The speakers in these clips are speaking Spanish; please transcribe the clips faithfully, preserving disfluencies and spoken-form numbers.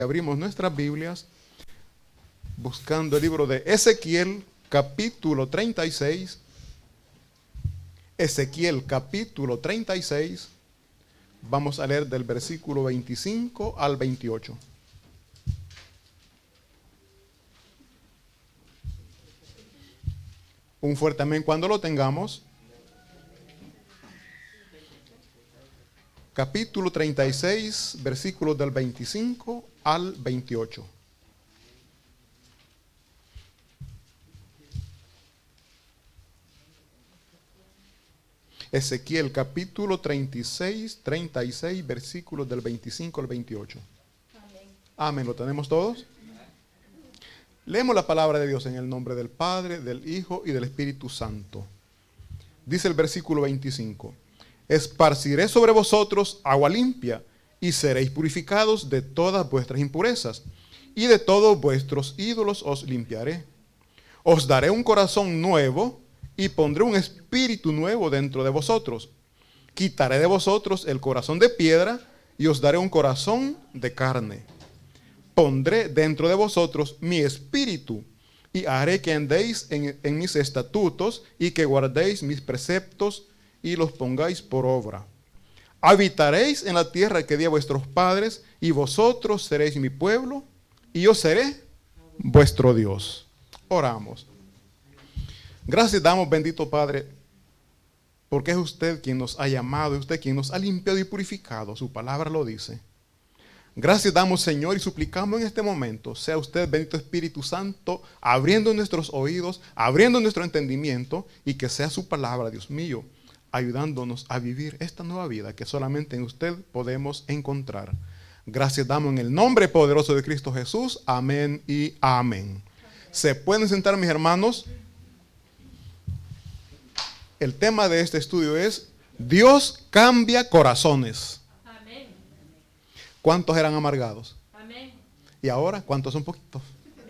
Abrimos nuestras Biblias buscando el libro de Ezequiel, capítulo treinta y seis. Ezequiel, capítulo treinta y seis. Vamos a leer del versículo veinticinco al veintiocho. Un fuerte amén cuando lo tengamos. Capítulo treinta y seis, versículos del veinticinco al veintiocho. Ezequiel capítulo treinta y seis, treinta y seis, versículos del veinticinco al veintiocho. Amén. Amén. ¿Lo tenemos todos? Leemos la palabra de Dios en el nombre del Padre, del Hijo y del Espíritu Santo. Dice el versículo veinticinco: esparciré sobre vosotros agua limpia, y seréis purificados de todas vuestras impurezas, y de todos vuestros ídolos os limpiaré. Os daré un corazón nuevo, y pondré un espíritu nuevo dentro de vosotros. Quitaré de vosotros el corazón de piedra, y os daré un corazón de carne. Pondré dentro de vosotros mi espíritu, y haré que andéis en, en mis estatutos, y que guardéis mis preceptos, y los pongáis por obra. Habitaréis en la tierra que di a vuestros padres, y vosotros seréis mi pueblo, y yo seré vuestro Dios. Oramos. Gracias damos, bendito Padre, porque es usted quien nos ha llamado, es usted quien nos ha limpiado y purificado. Su palabra lo dice. Gracias damos, Señor, y suplicamos en este momento, sea usted, bendito Espíritu Santo, abriendo nuestros oídos, abriendo nuestro entendimiento, y que sea su palabra, Dios mío, ayudándonos a vivir esta nueva vida que solamente en usted podemos encontrar. Gracias damos en el nombre poderoso de Cristo Jesús. Amén y amén. ¿Se pueden sentar, mis hermanos? El tema de este estudio es: Dios cambia corazones. Amén. ¿Cuántos eran amargados? Amén. ¿Y ahora cuántos son poquitos?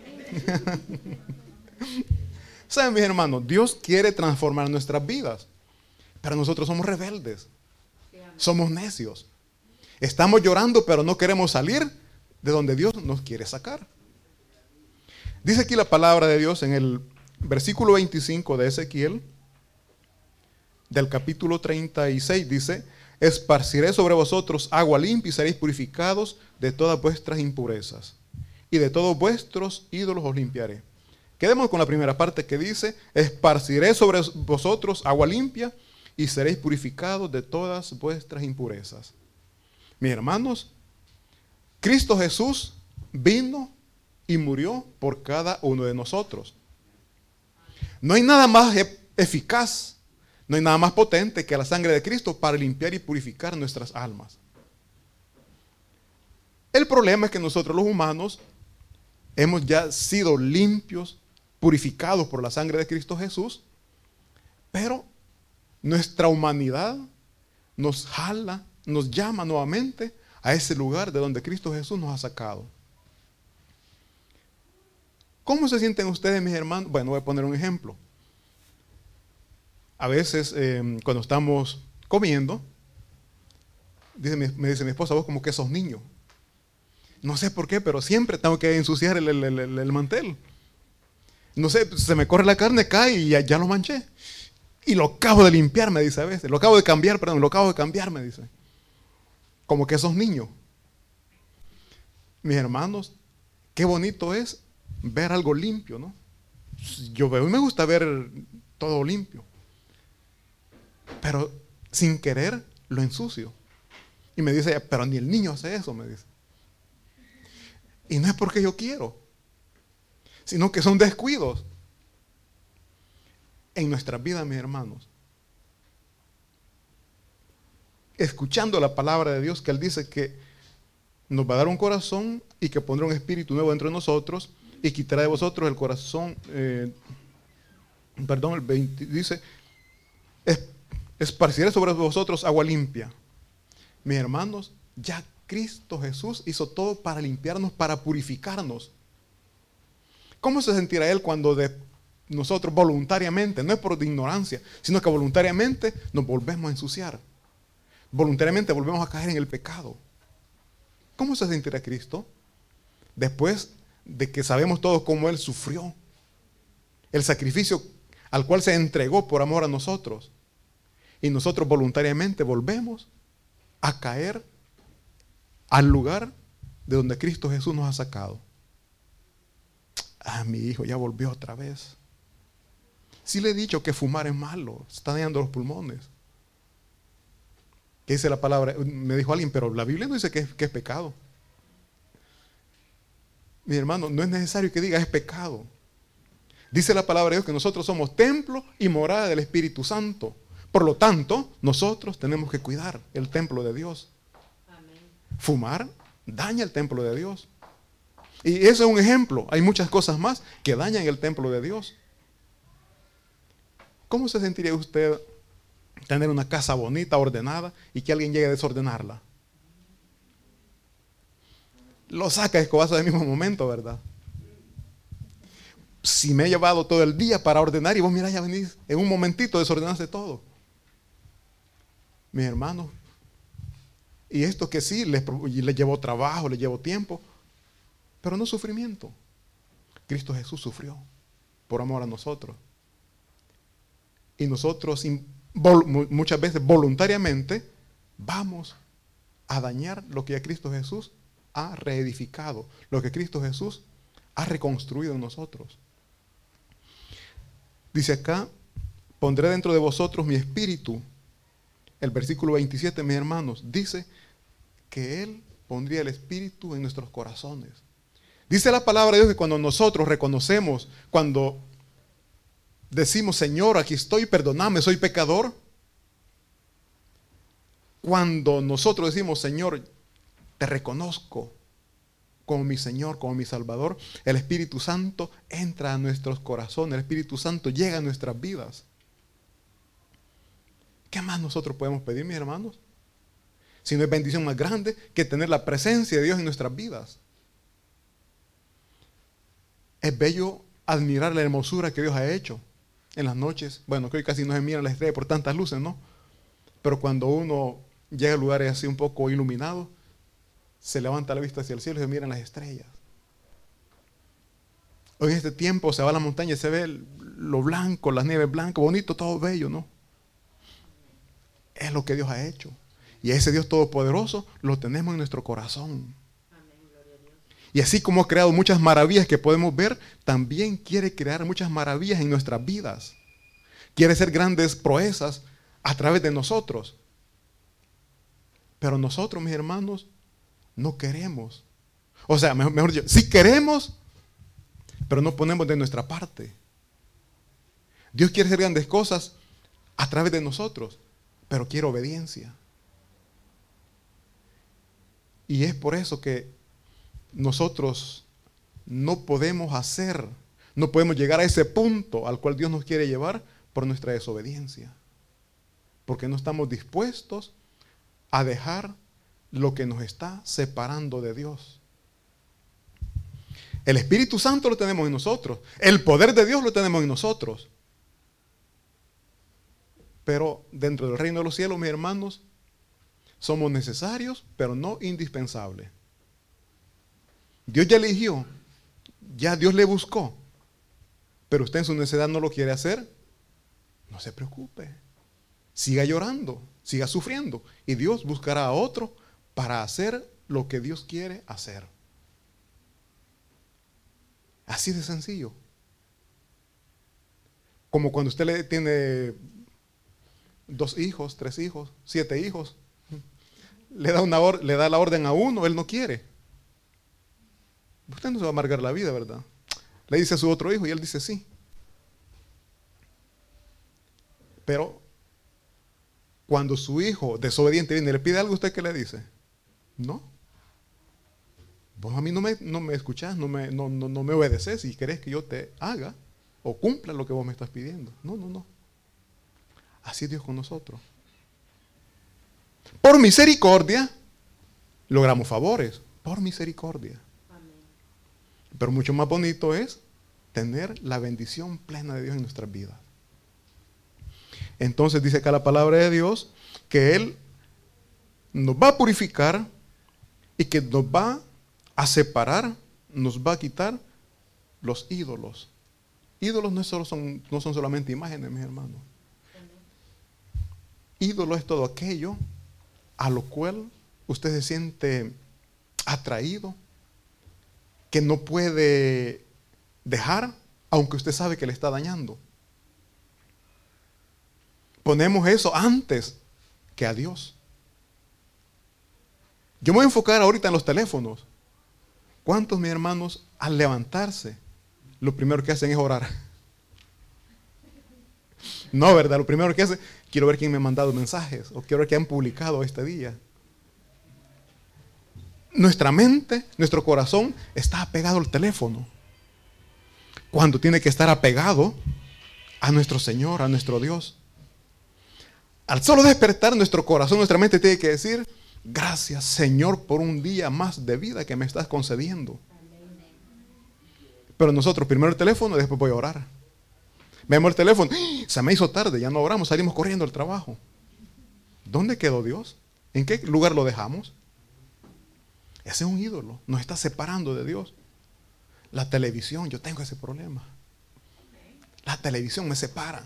¿Saben, mis hermanos? Dios quiere transformar nuestras vidas, pero nosotros somos rebeldes. Somos necios. Estamos llorando, pero no queremos salir de donde Dios nos quiere sacar. Dice aquí la palabra de Dios en el versículo veinticinco de Ezequiel, del capítulo treinta y seis, dice: esparciré sobre vosotros agua limpia, y seréis purificados de todas vuestras impurezas, y de todos vuestros ídolos os limpiaré. Quedemos con la primera parte que dice: esparciré sobre vosotros agua limpia, y seréis purificados de todas vuestras impurezas. Mis hermanos, Cristo Jesús vino y murió por cada uno de nosotros. No hay nada más e- eficaz, no hay nada más potente que la sangre de Cristo para limpiar y purificar nuestras almas. El problema es que nosotros los humanos hemos ya sido limpios, purificados por la sangre de Cristo Jesús, pero nuestra humanidad nos jala, nos llama nuevamente a ese lugar de donde Cristo Jesús nos ha sacado. ¿Cómo se sienten ustedes, mis hermanos? Bueno, voy a poner un ejemplo. A veces, eh, cuando estamos comiendo, dice mi, me dice mi esposa: vos como que sos niño. No sé por qué, pero siempre tengo que ensuciar el, el, el, el mantel. No sé, se me corre la carne, cae y ya, ya lo manché. Y lo acabo de limpiar, me dice a veces. Lo acabo de cambiar, perdón, lo acabo de cambiar, me dice. Como que sos niño. Mis hermanos, qué bonito es ver algo limpio, ¿no? Yo veo y me gusta ver todo limpio. Pero sin querer lo ensucio. Y me dice: pero ni el niño hace eso, me dice. Y no es porque yo quiero, sino que son descuidos en nuestras vidas, mis hermanos. Escuchando la palabra de Dios, que Él dice que nos va a dar un corazón y que pondrá un espíritu nuevo dentro de nosotros, y quitará de vosotros el corazón, eh, perdón, el veinte, dice: es, esparciré sobre vosotros agua limpia. Mis hermanos, ya Cristo Jesús hizo todo para limpiarnos, para purificarnos. ¿Cómo se sentirá Él cuando de nosotros voluntariamente, no es por ignorancia, sino que voluntariamente nos volvemos a ensuciar? Voluntariamente volvemos a caer en el pecado. ¿Cómo se sentirá Cristo? Después de que sabemos todos cómo Él sufrió, el sacrificio al cual se entregó por amor a nosotros, y nosotros voluntariamente volvemos a caer al lugar de donde Cristo Jesús nos ha sacado. Ah, mi hijo ya volvió otra vez. Sí le he dicho que fumar es malo, está dañando los pulmones. ¿Qué dice la palabra? Me dijo alguien, pero la Biblia no dice que es, que es pecado. Mi hermano, no es necesario que diga es pecado. Dice la palabra de Dios que nosotros somos templo y morada del Espíritu Santo. Por lo tanto, nosotros tenemos que cuidar el templo de Dios. Amén. Fumar daña el templo de Dios. Y eso es un ejemplo. Hay muchas cosas más que dañan el templo de Dios. ¿Cómo se sentiría usted tener una casa bonita, ordenada, y que alguien llegue a desordenarla? Lo saca de escobazo del mismo momento, ¿verdad? Si me he llevado todo el día para ordenar y vos mirá, ya venís en un momentito desordenaste todo. Mis hermanos, y esto que sí, les, les llevó trabajo, les llevó tiempo, pero no sufrimiento. Cristo Jesús sufrió por amor a nosotros. Y nosotros muchas veces voluntariamente vamos a dañar lo que ya Cristo Jesús ha reedificado, lo que Cristo Jesús ha reconstruido en nosotros. Dice acá, pondré dentro de vosotros mi espíritu. El versículo veintisiete, mis hermanos, dice que Él pondría el espíritu en nuestros corazones. Dice la palabra de Dios que cuando nosotros reconocemos, cuando decimos, Señor, aquí estoy, perdóname, soy pecador. Cuando nosotros decimos, Señor, te reconozco como mi Señor, como mi Salvador, el Espíritu Santo entra a nuestros corazones, el Espíritu Santo llega a nuestras vidas. ¿Qué más nosotros podemos pedir, mis hermanos? Si no es bendición más grande que tener la presencia de Dios en nuestras vidas. Es bello admirar la hermosura que Dios ha hecho en las noches. Bueno, que hoy casi no se miran las estrellas por tantas luces, ¿no? Pero cuando uno llega a lugares así un poco iluminados, se levanta la vista hacia el cielo y se miran las estrellas. Hoy en este tiempo se va a la montaña y se ve lo blanco, las nieves blancas, bonito, todo bello, ¿no? Es lo que Dios ha hecho. Y ese Dios todopoderoso lo tenemos en nuestro corazón. Y así como ha creado muchas maravillas que podemos ver, también quiere crear muchas maravillas en nuestras vidas. Quiere hacer grandes proezas a través de nosotros. Pero nosotros, mis hermanos, no queremos. O sea, mejor, mejor dicho, sí queremos, pero no ponemos de nuestra parte. Dios quiere hacer grandes cosas a través de nosotros, pero quiere obediencia. Y es por eso que nosotros no podemos hacer, no podemos llegar a ese punto al cual Dios nos quiere llevar por nuestra desobediencia. Porque no estamos dispuestos a dejar lo que nos está separando de Dios. El Espíritu Santo lo tenemos en nosotros. El poder de Dios lo tenemos en nosotros. Pero dentro del reino de los cielos, mis hermanos, somos necesarios, pero no indispensables. Dios ya eligió, ya Dios le buscó, pero usted en su necesidad no lo quiere hacer, no se preocupe. Siga llorando, siga sufriendo, y Dios buscará a otro para hacer lo que Dios quiere hacer. Así de sencillo. Como cuando usted le tiene dos hijos, tres hijos, siete hijos, le da, una or- le da la orden a uno, él no quiere. Usted no se va a amargar la vida, ¿verdad? Le dice a su otro hijo y él dice sí. Pero cuando su hijo desobediente viene y le pide algo, ¿usted qué le dice? No. Vos a mí no me, no me escuchás, no me, no, no, no me obedeces y querés que yo te haga o cumpla lo que vos me estás pidiendo. No, no, no. Así es Dios con nosotros. Por misericordia logramos favores. Por misericordia. Pero mucho más bonito es tener la bendición plena de Dios en nuestras vidas. Entonces dice acá la palabra de Dios que Él nos va a purificar y que nos va a separar nos va a quitar los ídolos. Ídolos no, solo son, no son solamente imágenes, mis hermanos. Ídolo es todo aquello a lo cual usted se siente atraído, que no puede dejar, aunque usted sabe que le está dañando. Ponemos eso antes que a Dios. Yo me voy a enfocar ahorita en los teléfonos. ¿Cuántos, mis hermanos, al levantarse, lo primero que hacen es orar? No, ¿verdad? Lo primero que hacen, quiero ver quién me ha mandado mensajes, o quiero ver qué han publicado este día. Nuestra mente, nuestro corazón está apegado al teléfono, cuando tiene que estar apegado a nuestro Señor, a nuestro Dios. Al solo despertar nuestro corazón, nuestra mente tiene que decir: gracias, Señor, por un día más de vida que me estás concediendo. Pero nosotros, primero el teléfono y después voy a orar. Vemos el teléfono, se me hizo tarde, ya no oramos, salimos corriendo al trabajo. ¿Dónde quedó Dios? ¿En qué lugar lo dejamos? Ese es un ídolo, nos está separando de Dios. La televisión, yo tengo ese problema. La televisión me separa.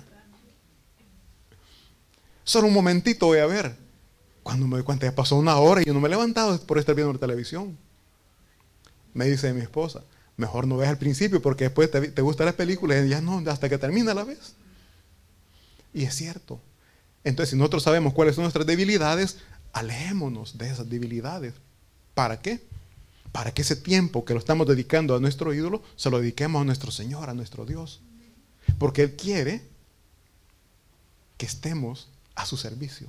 Solo un momentito voy a ver. Cuando me doy cuenta, ya pasó una hora y yo no me he levantado por estar viendo la televisión. Me dice mi esposa: mejor no veas al principio, porque después te, te gustan las películas y ya no, hasta que termina la vez. Y es cierto. Entonces, si nosotros sabemos cuáles son nuestras debilidades, alejémonos de esas debilidades. ¿Para qué? Para que ese tiempo que lo estamos dedicando a nuestro ídolo, se lo dediquemos a nuestro Señor, a nuestro Dios. Porque Él quiere que estemos a su servicio.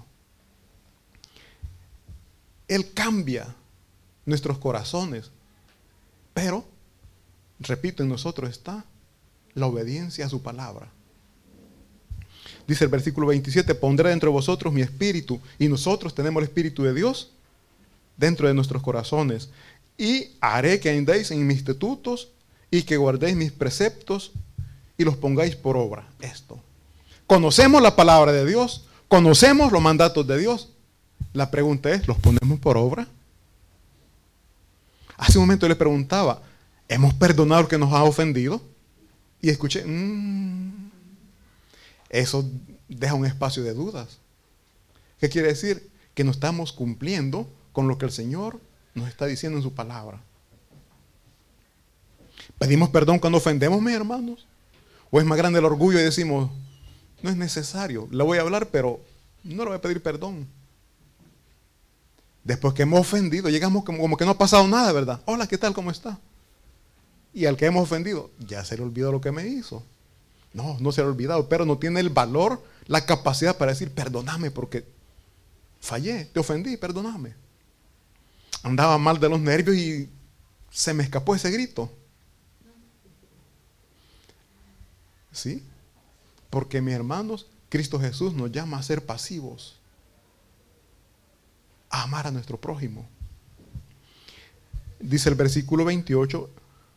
Él cambia nuestros corazones. Pero, repito, en nosotros está la obediencia a su palabra. Dice el versículo veintisiete: pondré dentro de vosotros mi espíritu. Y nosotros tenemos el espíritu de Dios dentro de nuestros corazones. Y haré que andéis en mis estatutos y que guardéis mis preceptos y los pongáis por obra. Esto. Conocemos la palabra de Dios, conocemos los mandatos de Dios. La pregunta es, ¿los ponemos por obra? Hace un momento le preguntaba, ¿hemos perdonado al que nos ha ofendido? Y escuché, mmm, eso deja un espacio de dudas. ¿Qué quiere decir? Que no estamos cumpliendo con lo que el Señor nos está diciendo en su palabra. ¿Pedimos perdón cuando ofendemos, mis hermanos? ¿O es más grande el orgullo y decimos, no es necesario, le voy a hablar, pero no le voy a pedir perdón? Después que hemos ofendido, llegamos como, como que no ha pasado nada, ¿verdad? Hola, ¿qué tal? ¿Cómo está? Y al que hemos ofendido, ya se le olvidó lo que me hizo. No, no se le ha olvidado, pero no tiene el valor, la capacidad para decir, perdóname porque fallé, te ofendí, perdóname. Andaba mal de los nervios y se me escapó ese grito. ¿Sí? Porque, mis hermanos, Cristo Jesús nos llama a ser pasivos, a amar a nuestro prójimo. Dice el versículo veintiocho: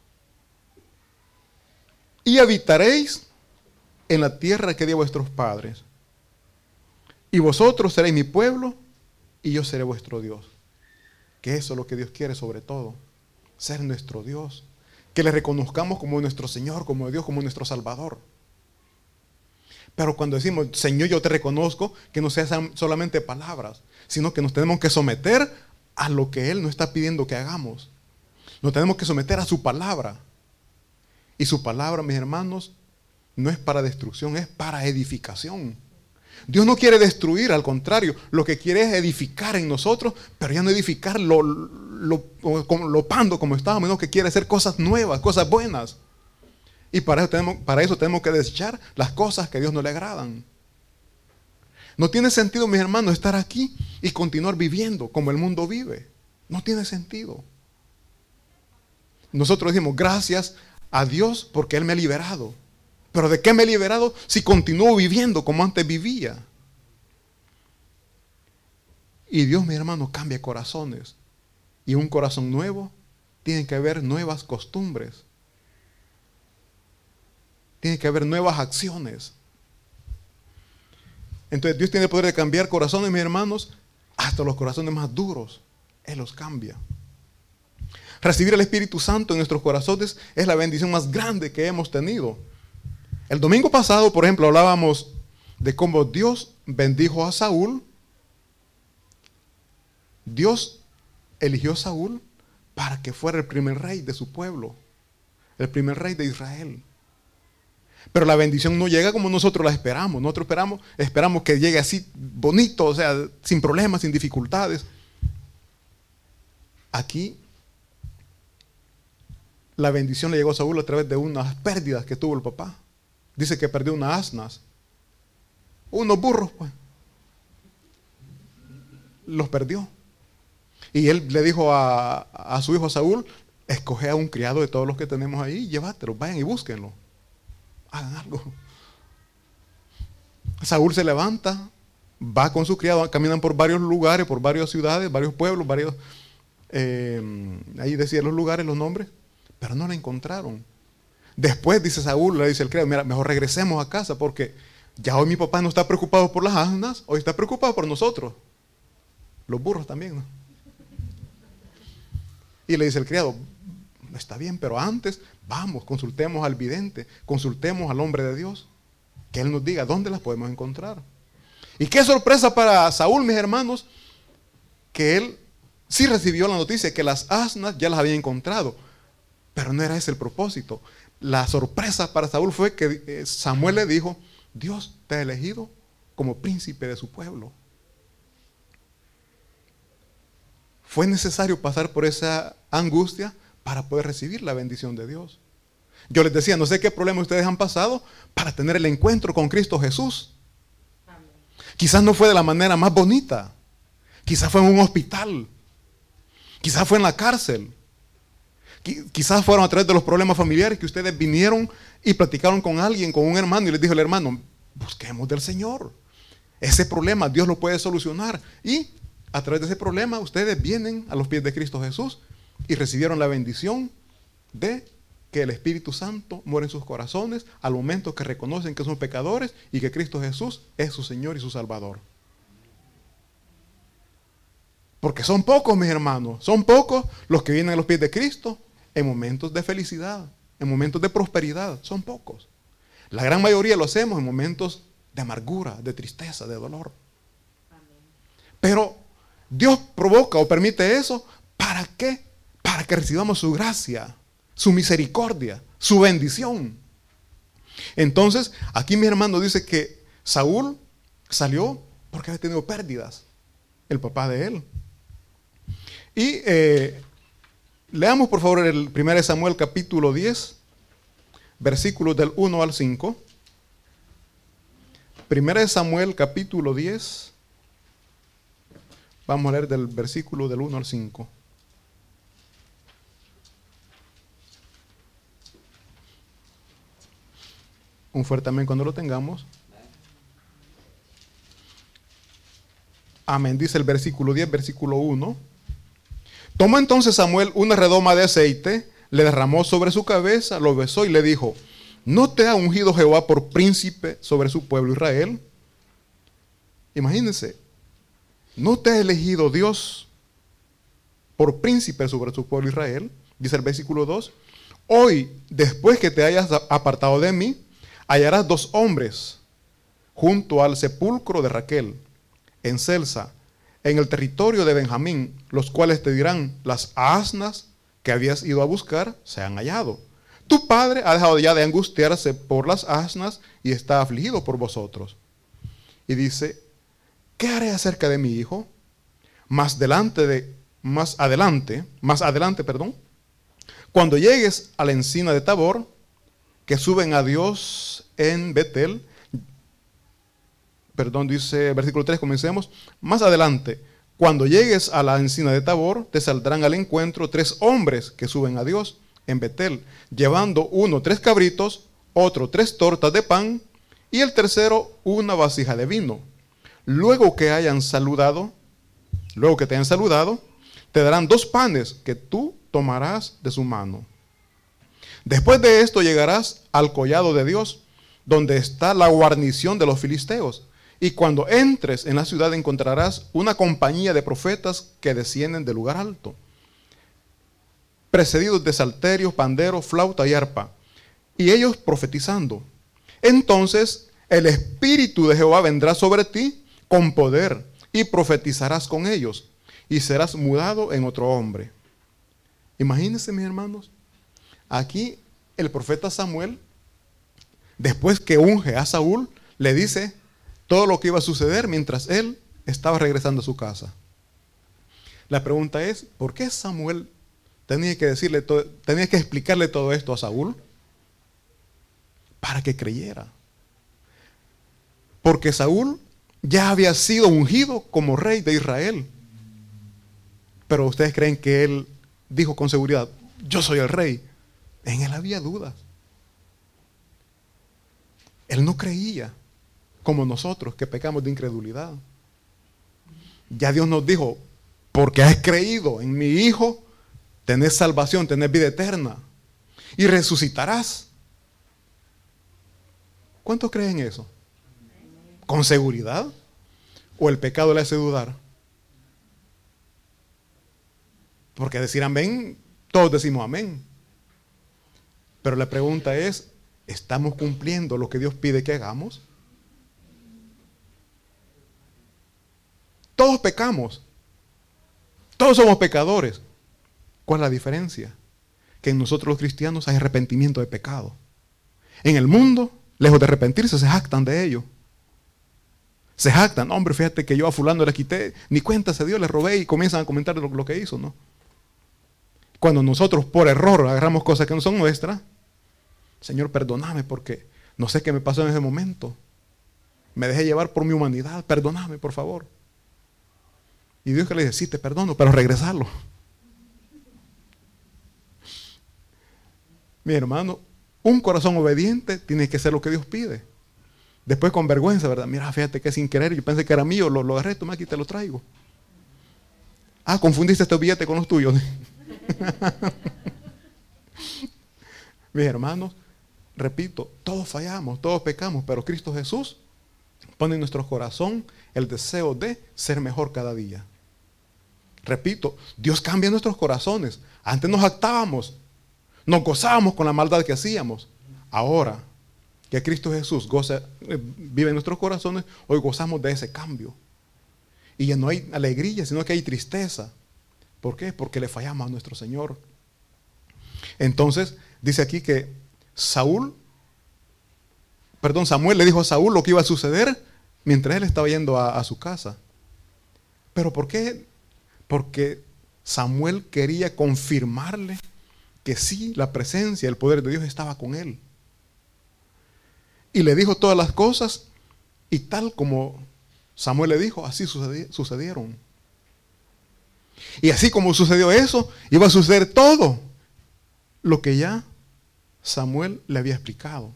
y habitaréis en la tierra que di a vuestros padres, y vosotros seréis mi pueblo, y yo seré vuestro Dios. Que eso es lo que Dios quiere sobre todo, ser nuestro Dios. Que le reconozcamos como nuestro Señor, como Dios, como nuestro Salvador. Pero cuando decimos, Señor, yo te reconozco, que no sean solamente palabras, sino que nos tenemos que someter a lo que Él nos está pidiendo que hagamos. Nos tenemos que someter a su palabra. Y su palabra, mis hermanos, no es para destrucción, es para edificación. Dios no quiere destruir, al contrario, lo que quiere es edificar en nosotros, pero ya no edificar lo, lo, lo, lo pando como estábamos, sino que quiere hacer cosas nuevas, cosas buenas. Y para eso, tenemos, para eso tenemos que desechar las cosas que a Dios no le agradan. No tiene sentido, mis hermanos, estar aquí y continuar viviendo como el mundo vive. No tiene sentido. Nosotros decimos, gracias a Dios porque Él me ha liberado. ¿Pero de qué me he liberado si continúo viviendo como antes vivía? Y Dios, mi hermano, cambia corazones. Y un corazón nuevo tiene que haber nuevas costumbres. Tiene que haber nuevas acciones. Entonces Dios tiene el poder de cambiar corazones, mis hermanos, hasta los corazones más duros. Él los cambia. Recibir el Espíritu Santo en nuestros corazones es la bendición más grande que hemos tenido. El domingo pasado, por ejemplo, hablábamos de cómo Dios bendijo a Saúl. Dios eligió a Saúl para que fuera el primer rey de su pueblo, el primer rey de Israel. Pero la bendición no llega como nosotros la esperamos. Nosotros esperamos, esperamos que llegue así bonito, o sea, sin problemas, sin dificultades. Aquí la bendición le llegó a Saúl a través de unas pérdidas que tuvo el papá. Dice que perdió unas asnas, unos burros, pues. Los perdió. Y él le dijo a, a su hijo Saúl: escoge a un criado de todos los que tenemos ahí, llévatelo, vayan y búsquenlo. Hagan algo. Saúl se levanta, va con su criado, caminan por varios lugares, por varias ciudades, varios pueblos, varios, eh, ahí decía los lugares, los nombres, pero no la encontraron. Después dice Saúl, le dice el criado: mira, mejor regresemos a casa porque ya hoy mi papá no está preocupado por las asnas, hoy está preocupado por nosotros. Los burros también, ¿no? Y le dice el criado: está bien, pero antes vamos, consultemos al vidente, consultemos al hombre de Dios, que él nos diga dónde las podemos encontrar. Y qué sorpresa para Saúl, mis hermanos, que él sí recibió la noticia que las asnas ya las había encontrado, pero no era ese el propósito. La sorpresa para Saúl fue que Samuel le dijo: Dios te ha elegido como príncipe de su pueblo. Fue necesario pasar por esa angustia para poder recibir la bendición de Dios. Yo les decía, no sé qué problema ustedes han pasado para tener el encuentro con Cristo Jesús. Amén. Quizás no fue de la manera más bonita. Quizás fue en un hospital. Quizás fue en la cárcel. Quizás fueron a través de los problemas familiares que ustedes vinieron y platicaron con alguien, con un hermano, y les dijo el hermano: busquemos del Señor. Ese problema Dios lo puede solucionar. Y a través de ese problema ustedes vienen a los pies de Cristo Jesús y recibieron la bendición de que el Espíritu Santo muere en sus corazones al momento que reconocen que son pecadores y que Cristo Jesús es su Señor y su Salvador. Porque son pocos, mis hermanos, son pocos los que vienen a los pies de Cristo en momentos de felicidad, en momentos de prosperidad, son pocos. La gran mayoría lo hacemos en momentos de amargura, de tristeza, de dolor. Pero Dios provoca o permite eso, ¿para qué? Para que recibamos su gracia, su misericordia, su bendición. Entonces, aquí mi hermano dice que Saúl salió porque había tenido pérdidas, el papá de él. Y eh, leamos por favor el primero Samuel capítulo diez, versículos del uno al cinco. primero Samuel capítulo diez, vamos a leer del versículo del uno al cinco. Un fuerte amén cuando lo tengamos. Amén, dice el versículo diez, versículo uno. Tomó entonces Samuel una redoma de aceite, le derramó sobre su cabeza, lo besó y le dijo: ¿no te ha ungido Jehová por príncipe sobre su pueblo Israel? Imagínense, ¿no te ha elegido Dios por príncipe sobre su pueblo Israel? Dice el versículo dos. Hoy, después que te hayas apartado de mí, hallarás dos hombres junto al sepulcro de Raquel, en Celsa, en el territorio de Benjamín, los cuales te dirán: las asnas que habías ido a buscar se han hallado. Tu padre ha dejado ya de angustiarse por las asnas y está afligido por vosotros. Y dice: ¿qué haré acerca de mi hijo? Más adelante, de, más adelante, más adelante, perdón, cuando llegues a la encina de Tabor, que suben a Dios en Betel, perdón, dice versículo tres, comencemos. Más adelante, cuando llegues a la encina de Tabor, te saldrán al encuentro tres hombres que suben a Dios en Betel, llevando uno tres cabritos, otro tres tortas de pan, y el tercero una vasija de vino. Luego que hayan saludado, luego que te hayan saludado, te darán dos panes que tú tomarás de su mano. Después de esto llegarás al collado de Dios, donde está la guarnición de los filisteos. Y cuando entres en la ciudad encontrarás una compañía de profetas que descienden del lugar alto. precedidos de salterios, panderos, flauta y arpa, y ellos profetizando. Entonces el Espíritu de Jehová vendrá sobre ti con poder, y profetizarás con ellos, y serás mudado en otro hombre. Imagínense, mis hermanos, aquí el profeta Samuel, después que unge a Saúl, le dice todo lo que iba a suceder mientras él estaba regresando a su casa. La pregunta es, ¿por qué Samuel tenía que decirle todo, tenía que explicarle todo esto a Saúl? Para que creyera. Porque Saúl ya había sido ungido como rey de Israel. Pero ustedes creen que él dijo con seguridad, yo soy el rey. En él había dudas. Él no creía como nosotros que pecamos de incredulidad. Ya Dios nos dijo, porque has creído en mi Hijo, tenés salvación, tenés vida eterna y resucitarás. ¿Cuántos creen eso? ¿Con seguridad? ¿O el pecado le hace dudar? Porque decir amén, todos decimos amén. Pero la pregunta es, ¿estamos cumpliendo lo que Dios pide que hagamos? Todos pecamos. Todos somos pecadores. ¿Cuál es la diferencia? Que en nosotros los cristianos hay arrepentimiento de pecado. En el mundo, lejos de arrepentirse, se jactan de ello. Se jactan, no, hombre, fíjate que yo a fulano le quité, ni cuenta se dio, le robé, y comienzan a comentar lo, lo que hizo, ¿no? Cuando nosotros por error agarramos cosas que no son nuestras, Señor, perdóname porque no sé qué me pasó en ese momento. Me dejé llevar por mi humanidad, perdóname, por favor. Y Dios que le dice, sí, te perdono, pero regresarlo. Mi hermano, un corazón obediente tiene que ser lo que Dios pide. Después con vergüenza, ¿verdad? Mira, fíjate que sin querer, yo pensé que era mío, lo, lo agarré, toma aquí, te lo traigo. Ah, confundiste este billete con los tuyos. Mis hermanos, repito, todos fallamos, todos pecamos, pero Cristo Jesús pone en nuestro corazón el deseo de ser mejor cada día. Repito, Dios cambia nuestros corazones. Antes nos jactábamos, nos gozábamos con la maldad que hacíamos. Ahora que Cristo Jesús goza, vive en nuestros corazones, hoy gozamos de ese cambio. Y ya no hay alegría, sino que hay tristeza. ¿Por qué? Porque le fallamos a nuestro Señor. Entonces, dice aquí que Saúl, perdón, Samuel le dijo a Saúl lo que iba a suceder mientras él estaba yendo a, a su casa. ¿Pero por qué? Porque Samuel quería confirmarle que sí, la presencia, el poder de Dios estaba con él. Y le dijo todas las cosas, y tal como Samuel le dijo, así sucedieron. Y así como sucedió eso, iba a suceder todo lo que ya Samuel le había explicado.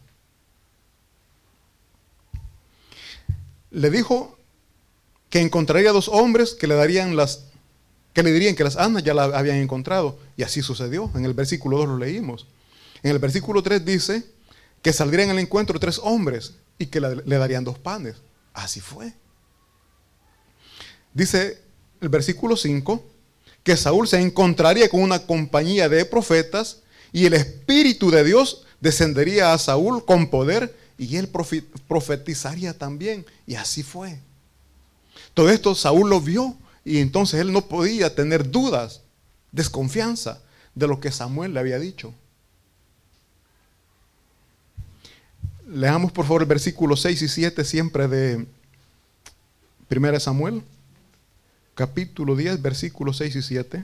Le dijo que encontraría dos hombres que le darían las, que le dirían que las asnas ya la habían encontrado. Y así sucedió. En el versículo dos lo leímos. En el versículo tres dice que saldrían al encuentro tres hombres y que le, le darían dos panes. Así fue. Dice el versículo cinco que Saúl se encontraría con una compañía de profetas y el Espíritu de Dios descendería a Saúl con poder y él profetizaría también. Y así fue. Todo esto Saúl lo vio y entonces él no podía tener dudas, desconfianza de lo que Samuel le había dicho. Leamos por favor el versículo seis y siete siempre de primera de Samuel. Capítulo diez, versículos seis y siete.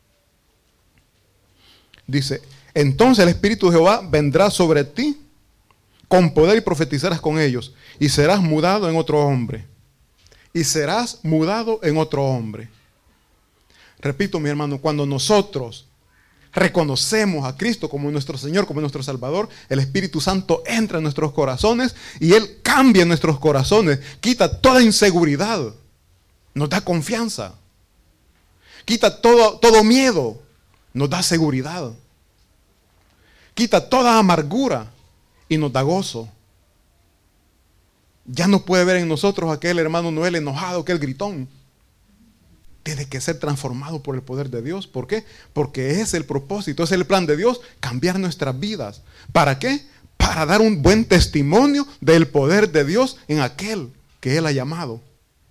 Dice, entonces el Espíritu de Jehová vendrá sobre ti con poder y profetizarás con ellos y serás mudado en otro hombre. Y serás mudado en otro hombre. Repito, mi hermano, cuando nosotros reconocemos a Cristo como nuestro Señor, como nuestro Salvador, el Espíritu Santo entra en nuestros corazones y Él cambia nuestros corazones, quita toda inseguridad. Nos da confianza. Quita todo, todo miedo. Nos da seguridad. Quita toda amargura y nos da gozo. Ya no puede ver en nosotros aquel hermano Noel enojado, aquel gritón. tiene que ser transformado por el poder de Dios. ¿Por qué? Porque es el propósito, es el plan de Dios, cambiar nuestras vidas. ¿Para qué? Para dar un buen testimonio del poder de Dios en aquel que Él ha llamado.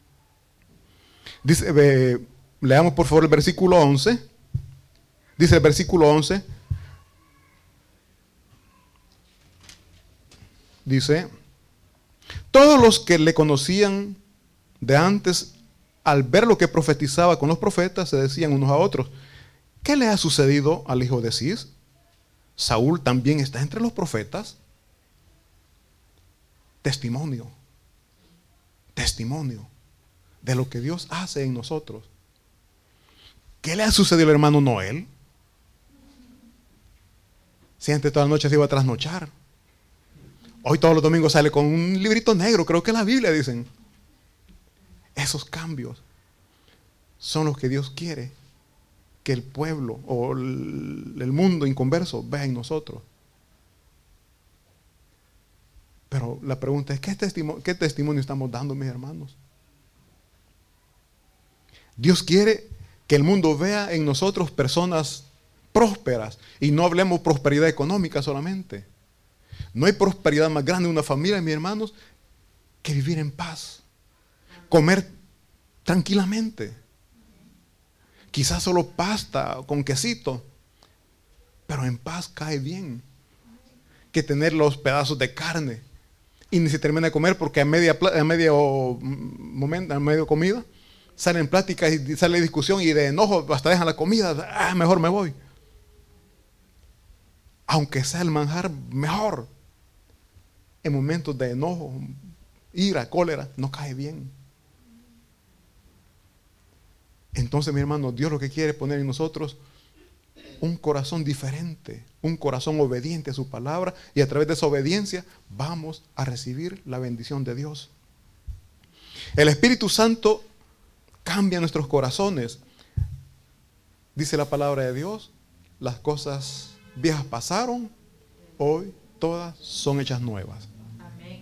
Dice, eh, leamos por favor el versículo once. Dice el versículo once. Dice, todos los que le conocían de antes, al ver lo que profetizaba con los profetas, se decían unos a otros, ¿qué le ha sucedido al hijo de Cis? ¿Saúl también está entre los profetas? Testimonio, testimonio de lo que Dios hace en nosotros. ¿Qué le ha sucedido al hermano Noel? Si antes toda la noche se iba a trasnochar, hoy todos los domingos sale con un librito negro, creo que es la Biblia, dicen. Esos cambios son los que Dios quiere que el pueblo o el, el mundo inconverso vea en nosotros. Pero la pregunta es, ¿qué testimonio, qué testimonio estamos dando, mis hermanos? Dios quiere que el mundo vea en nosotros personas prósperas, y no hablemos prosperidad económica solamente. No hay prosperidad más grande en una familia, mis hermanos, que vivir en paz, comer tranquilamente. Quizás solo pasta con quesito, pero en paz cae bien, que tener los pedazos de carne y ni se termina de comer porque a media, a medio momento, a medio comida, salen pláticas y sale discusión y de enojo hasta dejan la comida. Ah, mejor me voy. Aunque sea el manjar mejor, en momentos de enojo, ira, cólera, no cae bien. Entonces, mi hermano, Dios lo que quiere es poner en nosotros un corazón diferente, un corazón obediente a su palabra, y a través de esa obediencia vamos a recibir la bendición de Dios. El Espíritu Santo cambia nuestros corazones. Dice la palabra de Dios, las cosas viejas pasaron, hoy todas son hechas nuevas. Amén.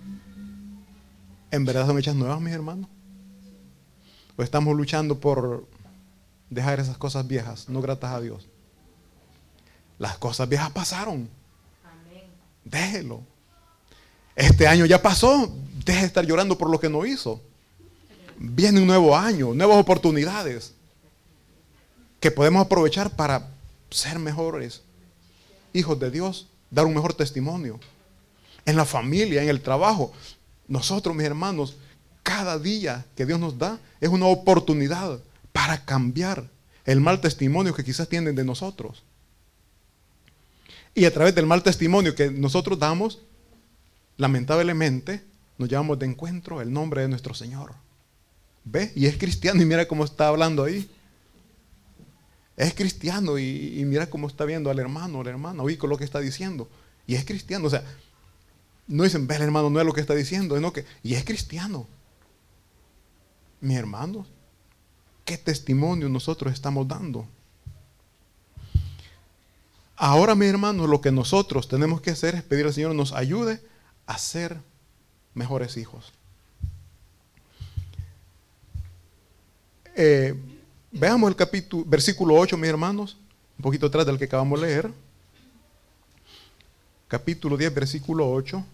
¿En verdad son hechas nuevas, mis hermanos? ¿O estamos luchando por dejar esas cosas viejas, no gratas a Dios? Las cosas viejas pasaron. Amén. Déjelo. Este año ya pasó. Deje de estar llorando por lo que no hizo. Viene un nuevo año, nuevas oportunidades que podemos aprovechar para ser mejores hijos de Dios, dar un mejor testimonio en la familia, en el trabajo. Nosotros, mis hermanos, cada día que Dios nos da es una oportunidad para cambiar el mal testimonio que quizás tienen de nosotros. Y a través del mal testimonio que nosotros damos, lamentablemente nos llevamos de encuentro el nombre de nuestro Señor. ¿Ve? Y es cristiano y mira cómo está hablando ahí. Es cristiano y, y mira cómo está viendo al hermano, a la hermana, oí con lo que está diciendo. Y es cristiano, o sea, no dicen, ve, el hermano no es lo que está diciendo, sino que, y es cristiano. Mis hermanos, ¿qué testimonio nosotros estamos dando? Ahora, mis hermanos, lo que nosotros tenemos que hacer es pedir al Señor que nos ayude a ser mejores hijos. Eh, veamos el capítulo, versículo ocho, mis hermanos, un poquito atrás del que acabamos de leer. Capítulo diez, versículo ocho.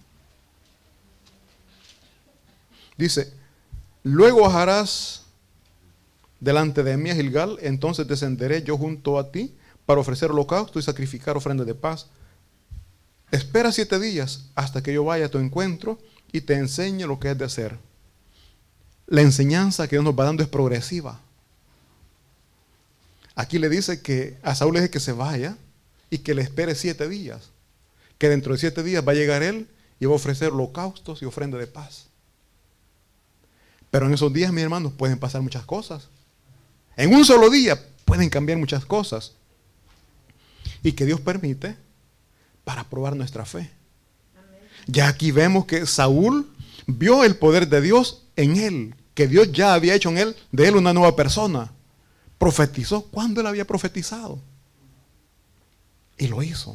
Dice, luego bajarás delante de mí a Gilgal, entonces descenderé yo junto a ti para ofrecer holocausto y sacrificar ofrenda de paz. Espera siete días hasta que yo vaya a tu encuentro y te enseñe lo que es de hacer. La enseñanza que Dios nos va dando es progresiva. Aquí le dice que a Saúl le dice que se vaya y que le espere siete días. Que dentro de siete días va a llegar él y va a ofrecer holocaustos y ofrenda de paz. Pero en esos días, mis hermanos, pueden pasar muchas cosas. En un solo día pueden cambiar muchas cosas. Y que Dios permite para probar nuestra fe. Amén. Ya aquí vemos que Saúl vio el poder de Dios en él, que Dios ya había hecho en él, de él una nueva persona. Profetizó cuando él había profetizado. Y lo hizo.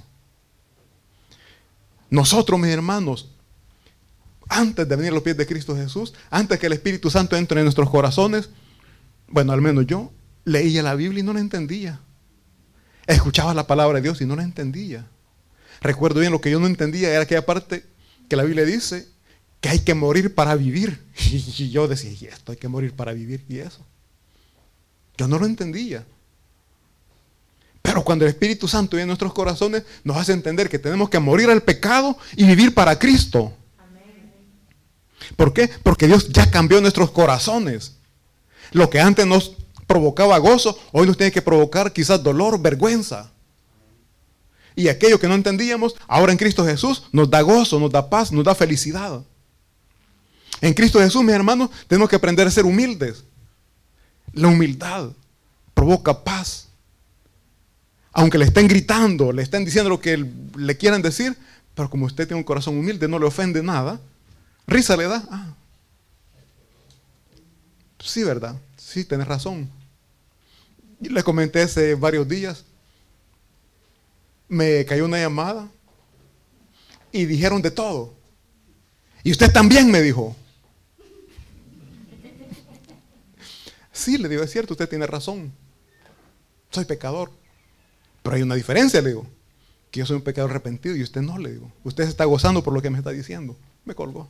Nosotros, mis hermanos, antes de venir a los pies de Cristo Jesús, antes que el Espíritu Santo entre en nuestros corazones, Bueno, al menos yo leía la Biblia y no la entendía. Escuchaba la palabra de Dios y no la entendía. Recuerdo bien, lo que yo no entendía era aquella parte que la Biblia dice que hay que morir para vivir. Y yo decía, y esto hay que morir para vivir, y eso. Yo no lo entendía. Pero cuando el Espíritu Santo viene en nuestros corazones, nos hace entender que tenemos que morir al pecado y vivir para Cristo. ¿Por qué? Porque Dios ya cambió nuestros corazones. Lo que antes nos provocaba gozo, hoy nos tiene que provocar quizás dolor, vergüenza. Y aquello que no entendíamos, ahora en Cristo Jesús nos da gozo, nos da paz, nos da felicidad. En Cristo Jesús, mis hermanos, tenemos que aprender a ser humildes. La humildad provoca paz. Aunque le estén gritando, le estén diciendo lo que le quieran decir, pero como usted tiene un corazón humilde, no le ofende nada, risa le da. Ah. Sí, ¿verdad? Sí, tenés razón. Y le comenté hace varios días, me cayó una llamada y dijeron de todo. Y usted también, me dijo. Sí, le digo, es cierto, usted tiene razón. Soy pecador. Pero hay una diferencia, le digo. Que yo soy un pecador arrepentido y usted no, le digo. Usted se está gozando por lo que me está diciendo. Me colgó.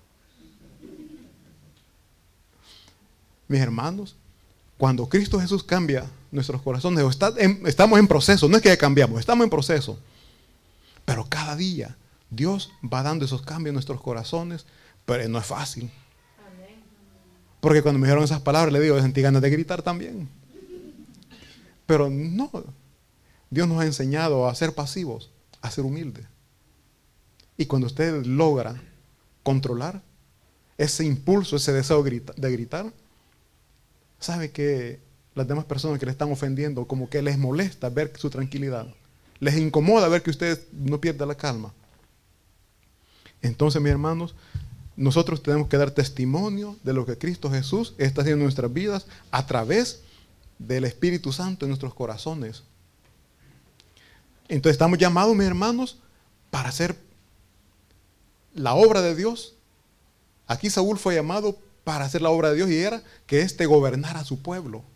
Mis hermanos, cuando Cristo Jesús cambia nuestros corazones, está en, estamos en proceso, no es que ya cambiamos, estamos en proceso. Pero cada día Dios va dando esos cambios en nuestros corazones, pero no es fácil. Porque cuando me dijeron esas palabras, le digo, sentí ganas de gritar también. Pero no, Dios nos ha enseñado a ser pasivos, a ser humildes. Y cuando usted logra controlar ese impulso, ese deseo de gritar, sabe que las demás personas que le están ofendiendo, como que les molesta ver su tranquilidad. Les incomoda ver que usted no pierda la calma. Entonces, mis hermanos, nosotros tenemos que dar testimonio de lo que Cristo Jesús está haciendo en nuestras vidas a través del Espíritu Santo en nuestros corazones. Entonces estamos llamados, mis hermanos, para hacer la obra de Dios. Aquí Saúl fue llamado para hacer la obra de Dios y era que éste gobernara a su pueblo.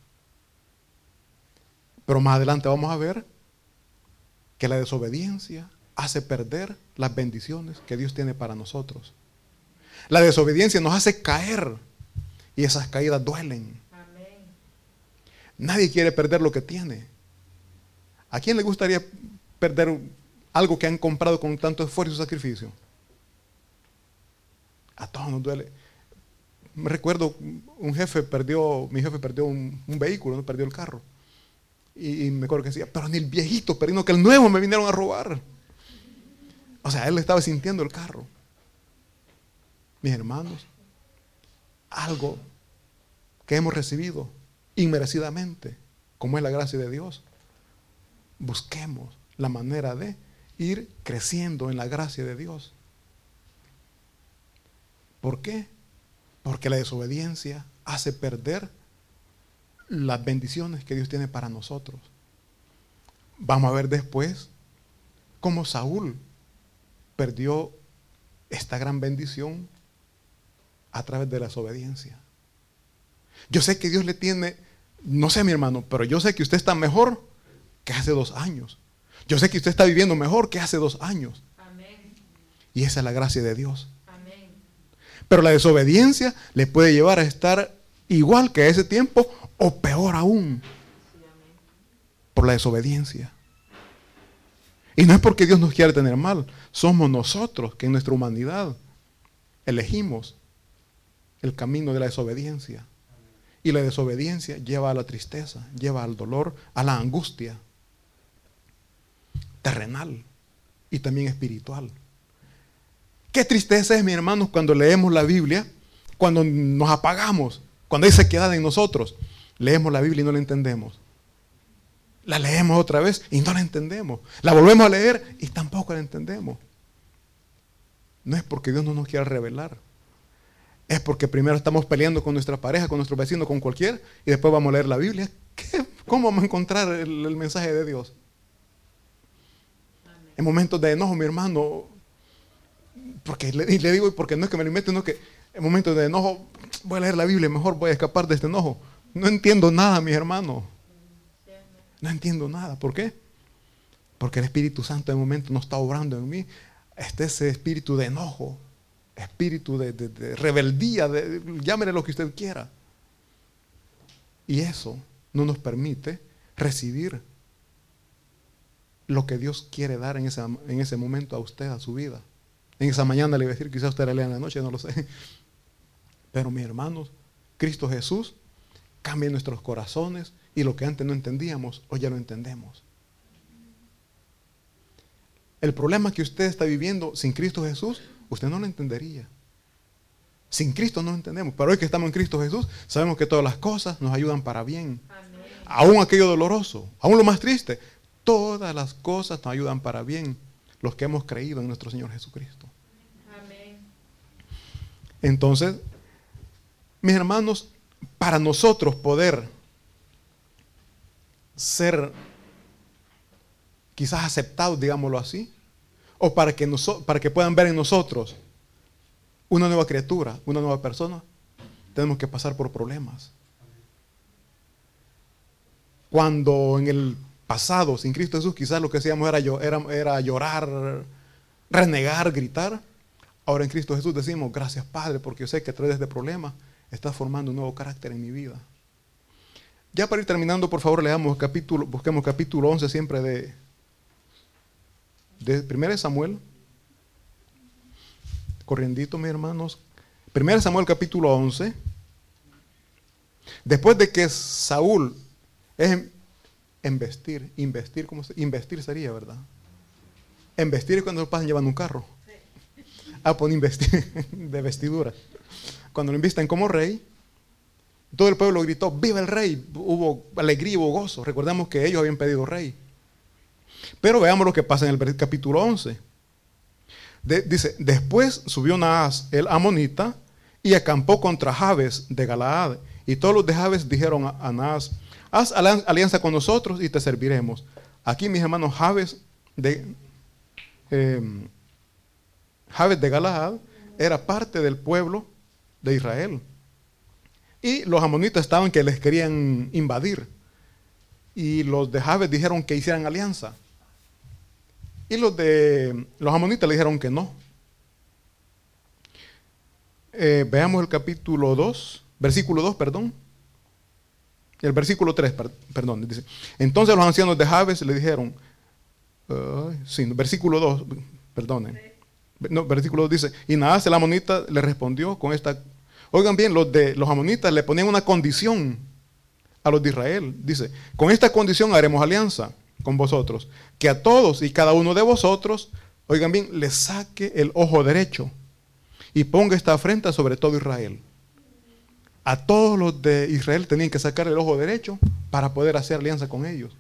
Pero más adelante vamos a ver que la desobediencia hace perder las bendiciones que Dios tiene para nosotros. La desobediencia nos hace caer y esas caídas duelen. Amén. Nadie quiere perder lo que tiene. ¿A quién le gustaría perder algo que han comprado con tanto esfuerzo y sacrificio? A todos nos duele. Me recuerdo, un jefe perdió, mi jefe perdió un, un vehículo, ¿no? Perdió el carro. Y, y me acuerdo que decía, pero ni el viejito, pero que el nuevo me vinieron a robar. O sea, él estaba sintiendo el carro. Mis hermanos, algo que hemos recibido inmerecidamente, como es la gracia de Dios, busquemos la manera de ir creciendo en la gracia de Dios. ¿Por qué? Porque la desobediencia hace perder las bendiciones que Dios tiene para nosotros. Vamos a ver después cómo Saúl perdió esta gran bendición a través de la desobediencia. Yo sé que Dios le tiene, no sé mi hermano, pero yo sé que usted está mejor que hace dos años. Yo sé que usted está viviendo mejor que hace dos años. Amén. Y esa es la gracia de Dios. Amén. Pero la desobediencia le puede llevar a estar igual que a ese tiempo o peor aún. Sí, amén. Por la desobediencia. Y no es porque Dios nos quiera tener mal, somos nosotros que en nuestra humanidad elegimos el camino de la desobediencia. Y la desobediencia lleva a la tristeza, lleva al dolor, a la angustia terrenal y también espiritual. Qué tristeza es, mis hermanos, cuando leemos la Biblia, cuando nos apagamos, cuando hay sequedad en nosotros. Leemos la Biblia y no la entendemos. La leemos otra vez y no la entendemos. La volvemos a leer y tampoco la entendemos. No es porque Dios no nos quiera revelar. Es porque primero estamos peleando con nuestra pareja, con nuestro vecino, con cualquiera, y después vamos a leer la Biblia. ¿Qué? ¿Cómo vamos a encontrar el, el mensaje de Dios? Amén. En momentos de enojo, mi hermano, porque le, y le digo, porque no es que me lo invente, no es que en momentos de enojo voy a leer la Biblia, mejor voy a escapar de este enojo. No entiendo nada, mis hermanos. No entiendo nada. ¿Por qué? Porque el Espíritu Santo de momento no está obrando en mí. Este ese espíritu de enojo, espíritu de, de, de rebeldía, de, llámele lo que usted quiera. Y eso no nos permite recibir lo que Dios quiere dar en ese, en ese momento a usted, a su vida. En esa mañana le voy a decir, quizás usted la lea en la noche, no lo sé. Pero mis hermanos, Cristo Jesús cambia nuestros corazones y lo que antes no entendíamos, hoy ya lo entendemos. El problema que usted está viviendo sin Cristo Jesús, usted no lo entendería. Sin Cristo no lo entendemos, pero hoy que estamos en Cristo Jesús, sabemos que todas las cosas nos ayudan para bien. Amén. Aún aquello doloroso, aún lo más triste, todas las cosas nos ayudan para bien, los que hemos creído en nuestro Señor Jesucristo. Amén. Entonces, mis hermanos, para nosotros poder ser quizás aceptados, digámoslo así, o para que, noso- para que puedan ver en nosotros una nueva criatura, una nueva persona, tenemos que pasar por problemas. Cuando en el pasado, sin Cristo Jesús, quizás lo que hacíamos era, era, era llorar, renegar, gritar. Ahora en Cristo Jesús decimos, gracias Padre, porque yo sé que a través de este problema estás formando un nuevo carácter en mi vida. Ya para ir terminando, por favor, leamos capítulo, busquemos capítulo once siempre de, de primera de Samuel. Corriendito, mis hermanos. primera de Samuel capítulo once. Después de que Saúl es investir, investir, ¿cómo se? Investir sería, ¿verdad? Investir es cuando lo pasan llevando un carro. Ah, pues investir de vestidura. Cuando lo invisten como rey, todo el pueblo gritó, ¡viva el rey! Hubo alegría, hubo gozo. Recordemos que ellos habían pedido rey. Pero veamos lo que pasa en el capítulo once. De, dice, después subió Naas, el amonita, y acampó contra Jabes de Galaad. Y todos los de Jabes dijeron a, a Naas, haz alianza con nosotros y te serviremos. Aquí, mis hermanos, Jabes de, eh, Jabes de Galaad era parte del pueblo de Israel. Y los amonitas estaban que les querían invadir. Y los de Jabes dijeron que hicieran alianza. Y los de los amonitas le dijeron que no. Eh, veamos el capítulo dos, versículo dos, perdón. El versículo tres, per, perdón, dice. Entonces los ancianos de Jabes le dijeron, uh, sí, versículo dos, perdonen. No, versículo dos dice, y Naas el amonita le respondió con esta. Oigan bien, los de los amonitas le ponían una condición a los de Israel. Dice, con esta condición haremos alianza con vosotros, que a todos y cada uno de vosotros, oigan bien, le saque el ojo derecho y ponga esta afrenta sobre todo Israel. A todos los de Israel tenían que sacar el ojo derecho para poder hacer alianza con ellos.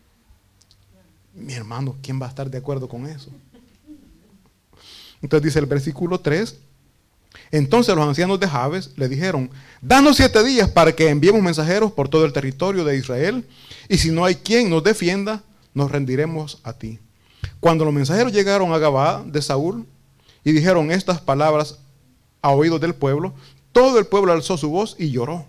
Mi hermano, ¿quién va a estar de acuerdo con eso? Entonces dice el versículo tres, entonces los ancianos de Jabes le dijeron, danos siete días para que enviemos mensajeros por todo el territorio de Israel, y si no hay quien nos defienda, nos rendiremos a ti. Cuando los mensajeros llegaron a Gabaa de Saúl y dijeron estas palabras a oídos del pueblo, todo el pueblo alzó su voz y lloró.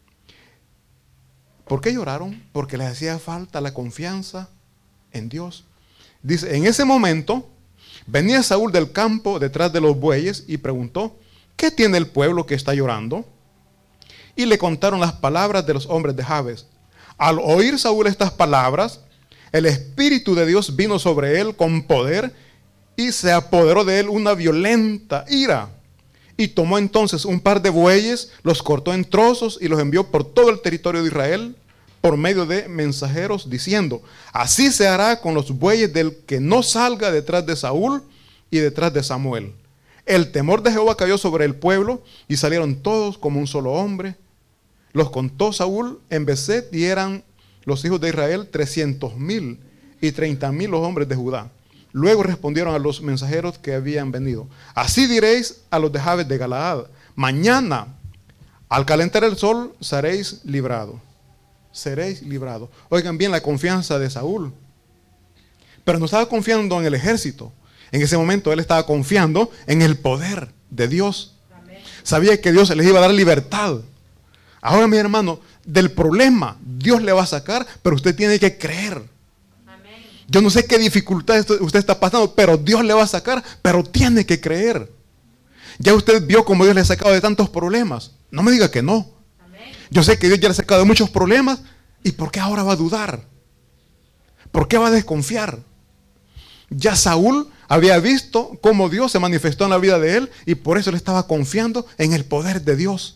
¿Por qué lloraron? Porque les hacía falta la confianza en Dios. Dice, en ese momento venía Saúl del campo detrás de los bueyes y preguntó, ¿qué tiene el pueblo que está llorando? Y le contaron las palabras de los hombres de Jabes. Al oír Saúl estas palabras, el Espíritu de Dios vino sobre él con poder y se apoderó de él una violenta ira. Y tomó entonces un par de bueyes, los cortó en trozos y los envió por todo el territorio de Israel por medio de mensajeros, diciendo, así se hará con los bueyes del que no salga detrás de Saúl y detrás de Samuel. El temor de Jehová cayó sobre el pueblo y salieron todos como un solo hombre. Los contó Saúl en Beset y eran los hijos de Israel trescientos mil y treinta mil los hombres de Judá. Luego respondieron a los mensajeros que habían venido, así diréis a los de Jabes de Galaad, mañana al calentar el sol seréis librados. Seréis librados. Oigan bien la confianza de Saúl. Pero no estaba confiando en el ejército. En ese momento él estaba confiando en el poder de Dios. Amén. Sabía que Dios les iba a dar libertad. Ahora, mi hermano, del problema Dios le va a sacar, pero usted tiene que creer. Amén. Yo no sé qué dificultad usted está pasando, pero Dios le va a sacar, pero tiene que creer. Ya usted vio cómo Dios le ha sacado de tantos problemas. No me diga que no. Amén. Yo sé que Dios ya le ha sacado de muchos problemas. ¿Y por qué ahora va a dudar? ¿Por qué va a desconfiar? Ya Saúl había visto cómo Dios se manifestó en la vida de él y por eso le estaba confiando en el poder de Dios.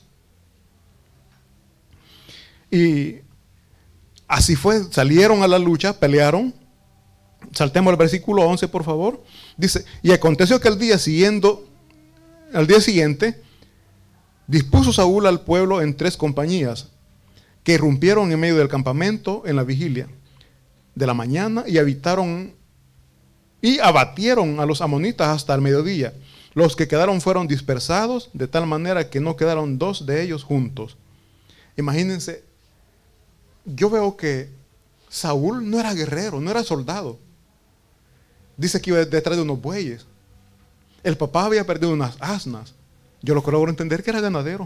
Y así fue, salieron a la lucha, pelearon. Saltemos al versículo once, por favor. Dice, y aconteció que al día siguiente, al día siguiente, dispuso Saúl al pueblo en tres compañías, que irrumpieron en medio del campamento en la vigilia de la mañana y habitaron y abatieron a los amonitas hasta el mediodía. Los que quedaron fueron dispersados de tal manera que no quedaron dos de ellos juntos. Imagínense, yo veo que Saúl no era guerrero, no era soldado. Dice que iba detrás de unos bueyes. El papá había perdido unas asnas. Yo lo logro entender que era ganadero.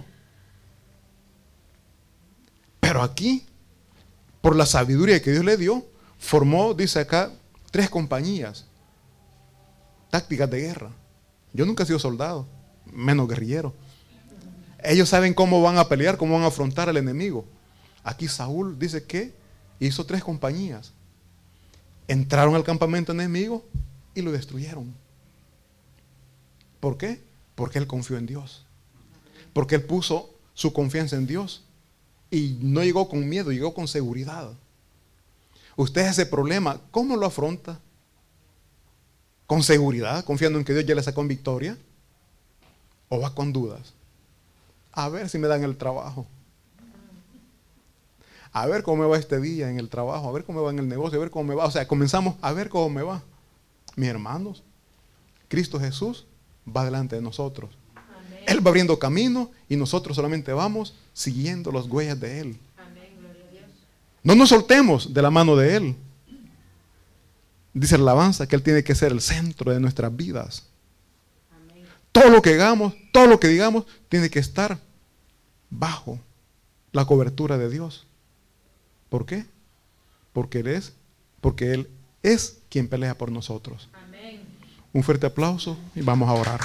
Pero aquí, por la sabiduría que Dios le dio, formó, dice acá, tres compañías. Tácticas de guerra. Yo nunca he sido soldado, menos guerrillero. Ellos saben cómo van a pelear, cómo van a afrontar al enemigo. Aquí Saúl dice que hizo tres compañías. Entraron al campamento enemigo y lo destruyeron. ¿Por qué? Porque él confió en Dios. Porque él puso su confianza en Dios. Y no llegó con miedo, llegó con seguridad. Usted ese problema, ¿cómo lo afronta? ¿Con seguridad, confiando en que Dios ya le sacó en victoria? ¿O va con dudas? A ver si me dan el trabajo. A ver cómo me va este día en el trabajo. A ver cómo me va en el negocio. A ver cómo me va. O sea, comenzamos a ver cómo me va. Mis hermanos, Cristo Jesús va delante de nosotros. Amén. Él va abriendo camino y nosotros solamente vamos siguiendo las huellas de Él. Amén. Gloria a Dios. No nos soltemos de la mano de Él. Dice la alabanza que Él tiene que ser el centro de nuestras vidas. Amén. Todo lo que hagamos, todo lo que digamos, tiene que estar bajo la cobertura de Dios. ¿Por qué? Porque Él es, porque Él es quien pelea por nosotros. Amén. Un fuerte aplauso y vamos a orar.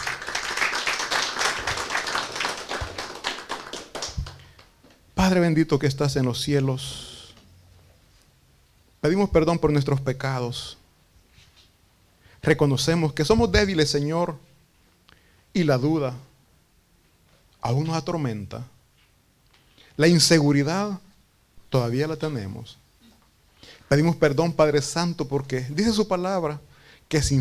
Padre bendito que estás en los cielos, pedimos perdón por nuestros pecados. Reconocemos que somos débiles, Señor, y la duda aún nos atormenta. La inseguridad todavía la tenemos. Pedimos perdón, Padre Santo, porque dice su palabra que sin